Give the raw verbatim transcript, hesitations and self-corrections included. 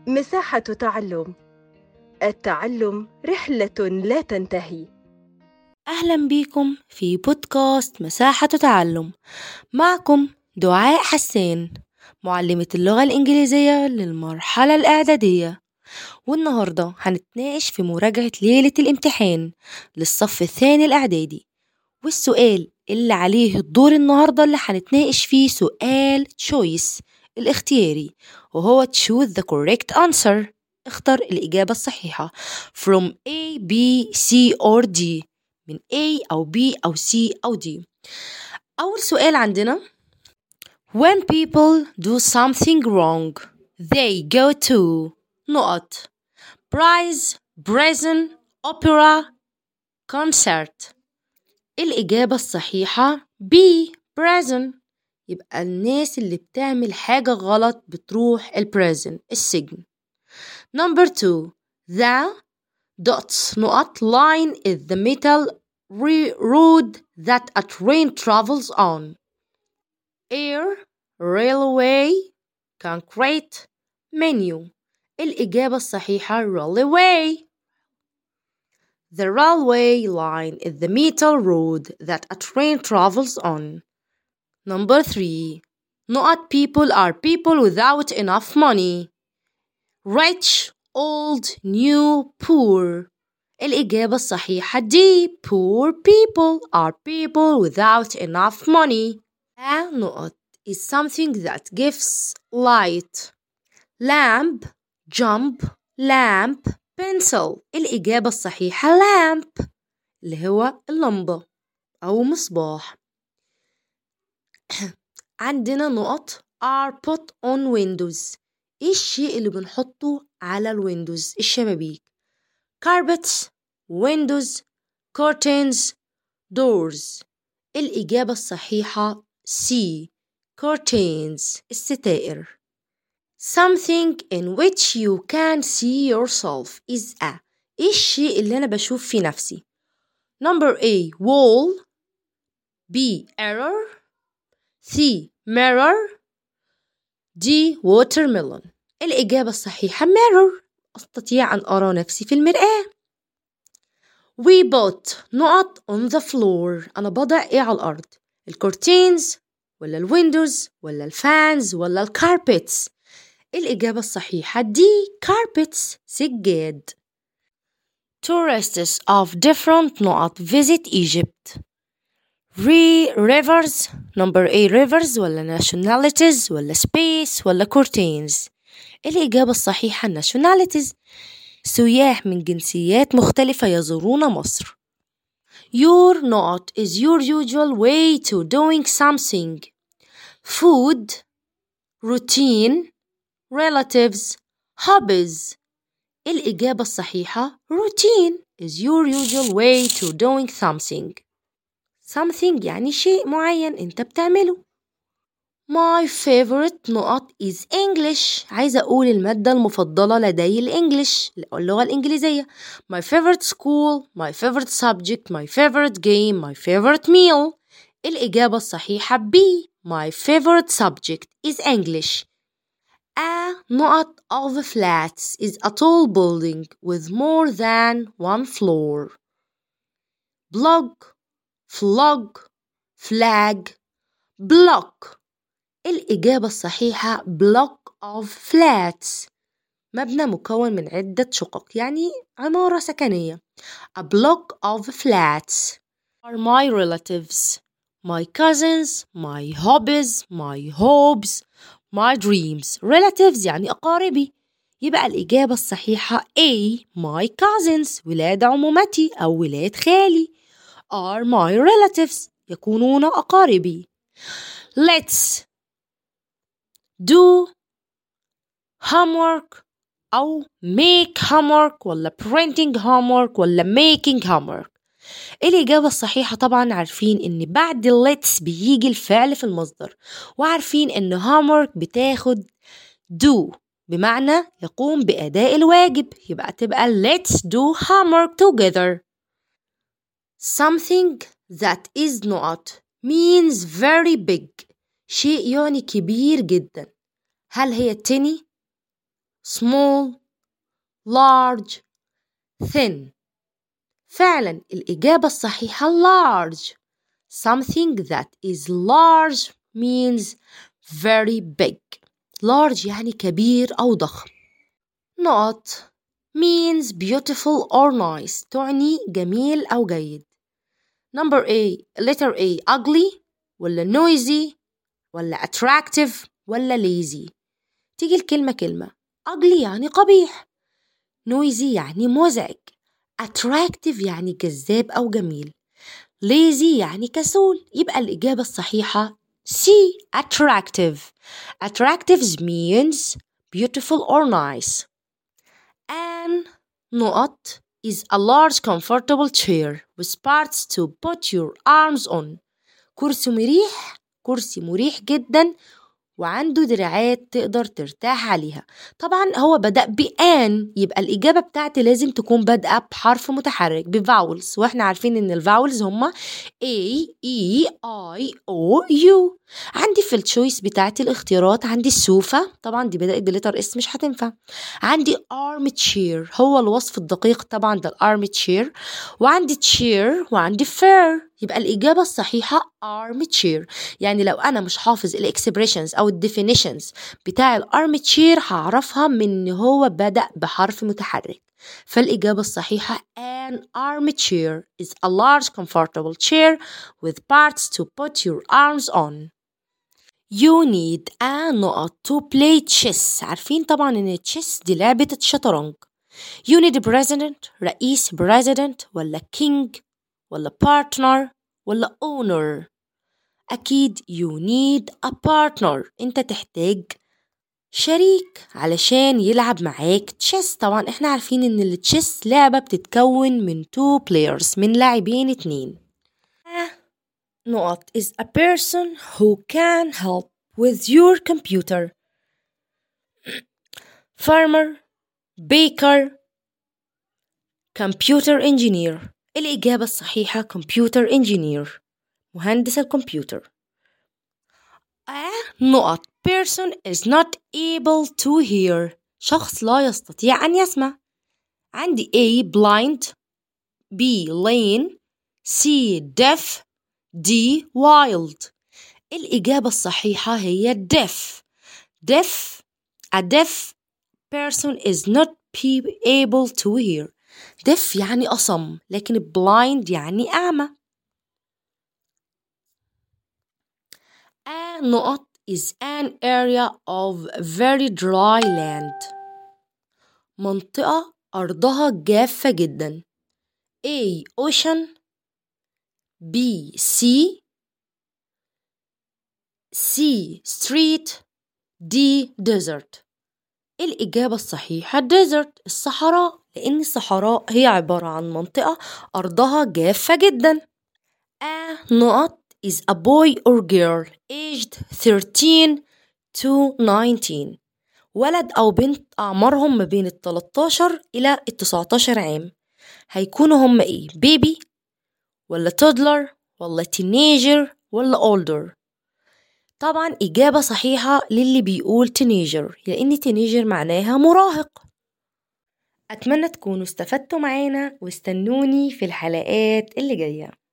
مساحة تعلم. التعلم رحلة لا تنتهي. أهلا بيكم في بودكاست مساحة تعلم. معكم دعاء حسان، معلمة اللغة الإنجليزية للمرحلة الإعدادية. والنهاردة هنتناقش في مراجعة ليلة الامتحان للصف الثاني الإعدادي. والسؤال اللي عليه الدور النهاردة اللي هنتناقش فيه سؤال choice الاختياري، وهو choose the correct answer. اختر الإجابة الصحيحة from A, B, C or D، من A أو B أو C أو D. أول سؤال عندنا: When people do something wrong they go to نقط prize, prison, opera, concert. الإجابة الصحيحة B prison. يبقى الناس اللي بتعمل حاجة غلط بتروح البريزن السجن. Number two: The dots نقط line is the metal road that a train travels on. Air, railway, concrete, menu. الإجابة الصحيحة railway. The railway line is the metal road that a train travels on. Number three: نقط people are people without enough money. Rich, old, new, poor. الإجابة الصحيحة D. Poor people are people without enough money. A نقط is something that gives light. Lamp, jump, lamp, pencil. الإجابة الصحيحة lamp اللي هو اللمبة أو مصباح. عندنا نقط are put on windows. إيه الشيء اللي بنحطه على الويندوز الشبابيك؟ carpets, windows, curtains, doors. الإجابة الصحيحة C. curtains الستائر. Something in which you can see yourself is a. إيه الشيء اللي أنا بشوف في نفسي؟ Number A wall, B error, C mirror, D watermelon. الإجابة الصحيحة mirror. أستطيع أن أرى نفسي في المرآة. We put نقط on the floor. أنا بضع إيه على الأرض؟ الكورتينز ولا الويندوز ولا الفانز ولا الكاربيتس؟ الإجابة الصحيحة D carpets سجاد. Tourists of different نقط visit Egypt. Re rivers. Number A rivers ولا nationalities ولا space ولا curtains. الإجابة الصحيحة nationalities. سياح من جنسيات مختلفة يزورون مصر. Your نقط is your usual way to doing something. Food, routine, relatives, hobbies. الإجابة الصحيحة routine is your usual way to doing something. something يعني شيء معين أنت بتعمله. My favorite نقط is English. عايزة أقول المادة المفضلة لدي الإنجليش اللغة الإنجليزية. My favorite school, my favorite subject, my favorite game, my favorite meal. الإجابة الصحيحة B. My favorite subject is English. A نقط of flats is a tall building with more than one floor. Blog, flog, flag, block. الإجابة الصحيحة block of flats. مبنى مكون من عدة شقق يعني عمارة سكنية. A block of flats are my relatives, my cousins, my hobbies, my hopes, my dreams. relatives يعني أقاربي. يبقى الإجابة الصحيحة A. my cousins ولاد عمومتي أو ولاد خالي are my relatives يكونون أقاربي. Let's do homework أو make homework ولا printing homework ولا making homework. الإجابة الصحيحة طبعا عارفين إن بعد let's بيجي الفعل في المصدر، وعارفين إن homework بتاخد do بمعنى يقوم بأداء الواجب، يبقى تبقى let's do homework together. Something that is not means very big. شيء يعني كبير جدا. هل هي التني small, large, thin. فعلا الإجابة الصحيحة large. Something that is large means very big. large يعني كبير أو ضخم. not means beautiful or nice. تعني جميل أو جيد. number A letter A ugly ولا noisy ولا attractive ولا lazy. تيجي الكلمة كلمة. ugly يعني قبيح، noisy يعني مزعج، attractive يعني جذاب أو جميل، lazy يعني كسول. يبقى الإجابة الصحيحة C attractive. attractive means beautiful or nice. An نقط is a large comfortable chair with parts to put your arms on. كرسي مريح، كرسي مريح جدا وعنده دراعات تقدر ترتاح عليها. طبعا هو بدأ بآن، يبقى الإجابة بتاعتي لازم تكون بادئة بحرف متحرك بفاولز، واحنا عارفين ان الفاولز هما A, E, I, O, U. عندي في التشويس بتاعتي الاختيارات، عندي السوفة، طبعا دي بدأت بلتر اس مش هتنفع. عندي arm chair، هو الوصف الدقيق طبعا ده الارم chair. وعندي chair وعندي fair، يبقى الإجابة الصحيحة arm chair. يعني لو أنا مش حافظ الإكسبريشنز أو الديفينيشنز بتاع الارم chair هعرفها من إن هو بدأ بحرف متحرك. فالإجابة الصحيحة an armchair is a large comfortable chair with parts to put your arms on. You need a نقط to play chess. عارفين طبعا إن chess دي لعبة الشطرنج. You need a president، رئيس president ولا king ولا partner ولا owner. أكيد you need a partner، أنت تحتاج شريك علشان يلعب معاك تشيس. طبعا احنا عارفين ان التشيس لعبة بتتكون من two players، من لاعبين اتنين. نقط is a person who can help with your computer. farmer، baker، computer engineer. الإجابة الصحيحة computer engineer، مهندس الكمبيوتر. A نقط person is not able to hear، شخص لا يستطيع أن يسمع. عندي A blind، B lame، C deaf، D wild. الإجابة الصحيحة هي deaf. deaf a deaf person is not able to hear. deaf يعني أصم، لكن blind يعني أعمى. A نقط is an area of very dry land، منطقة أرضها جافة جدا. A ocean، B sea، C street، D desert. الإجابة الصحيحة desert، الصحراء، لأن الصحراء هي عبارة عن منطقة أرضها جافة جدا. A نقط is a boy or girl aged thirteen to nineteen، ولد أو بنت أعمارهم ما بين التلاتاشر إلى التسعتاشر عام. هيكونوا هم إيه؟ بيبي ولا toddler ولا teenager ولا older؟ طبعا إجابة صحيحة للي بيقول teenager، لأن teenager معناها مراهق. أتمنى تكونوا استفدتوا معانا، واستنوني في الحلقات اللي جاية.